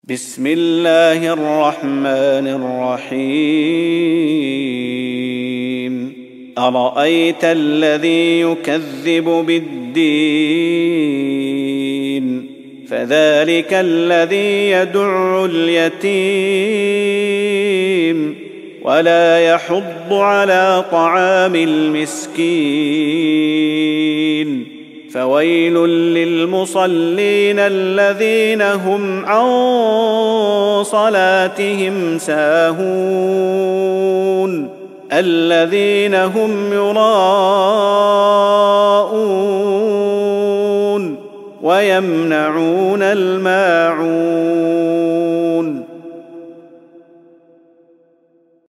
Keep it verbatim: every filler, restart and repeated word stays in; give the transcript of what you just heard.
بسم الله الرحمن الرحيم أرأيت الذي يكذب بالدين فذلك الذي يدع اليتيم ولا يحض على طعام المسكين فويل للمصلين الذين هم عن صلاتهم ساهون الذين هم يراءون ويمنعون الماء